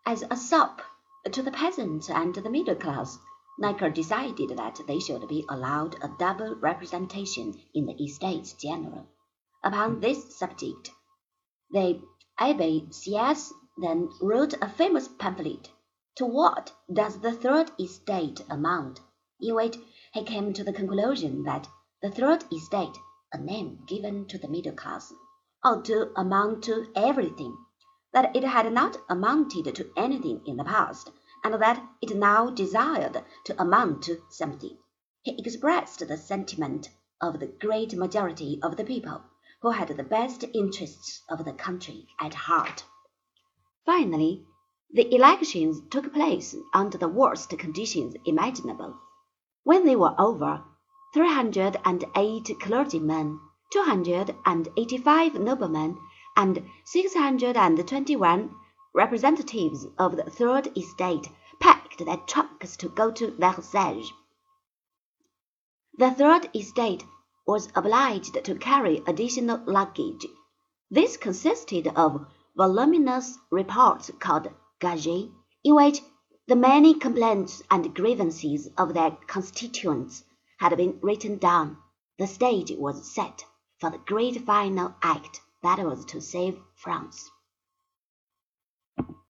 As a sop to the peasant and the middle class, Necker decided that they should be allowed a double representation in the Estates General. Upon this subject, the Abbé Sieyès then wrote a famous pamphlet, To What Does the Third Estate Amount?, in which he came to the conclusion that the Third Estate, a name given to the middle class, ought to amount to everything, that it had not amounted to anything in the past, and that it now desired to amount to something. He expressed the sentiment of the great majority of the people, who had the best interests of the country at heart. Finally, the elections took place under the worst conditions imaginable. When they were over, 308 clergymen, 285 noblemen, and 621 representatives of the Third Estate packed their trunks to go to Versailles. The Third Estate was obliged to carry additional luggage. This consisted of voluminous reports called gages, in which the many complaints and grievances of their constituents had been written down. The stage was set for the great final act that was to save France.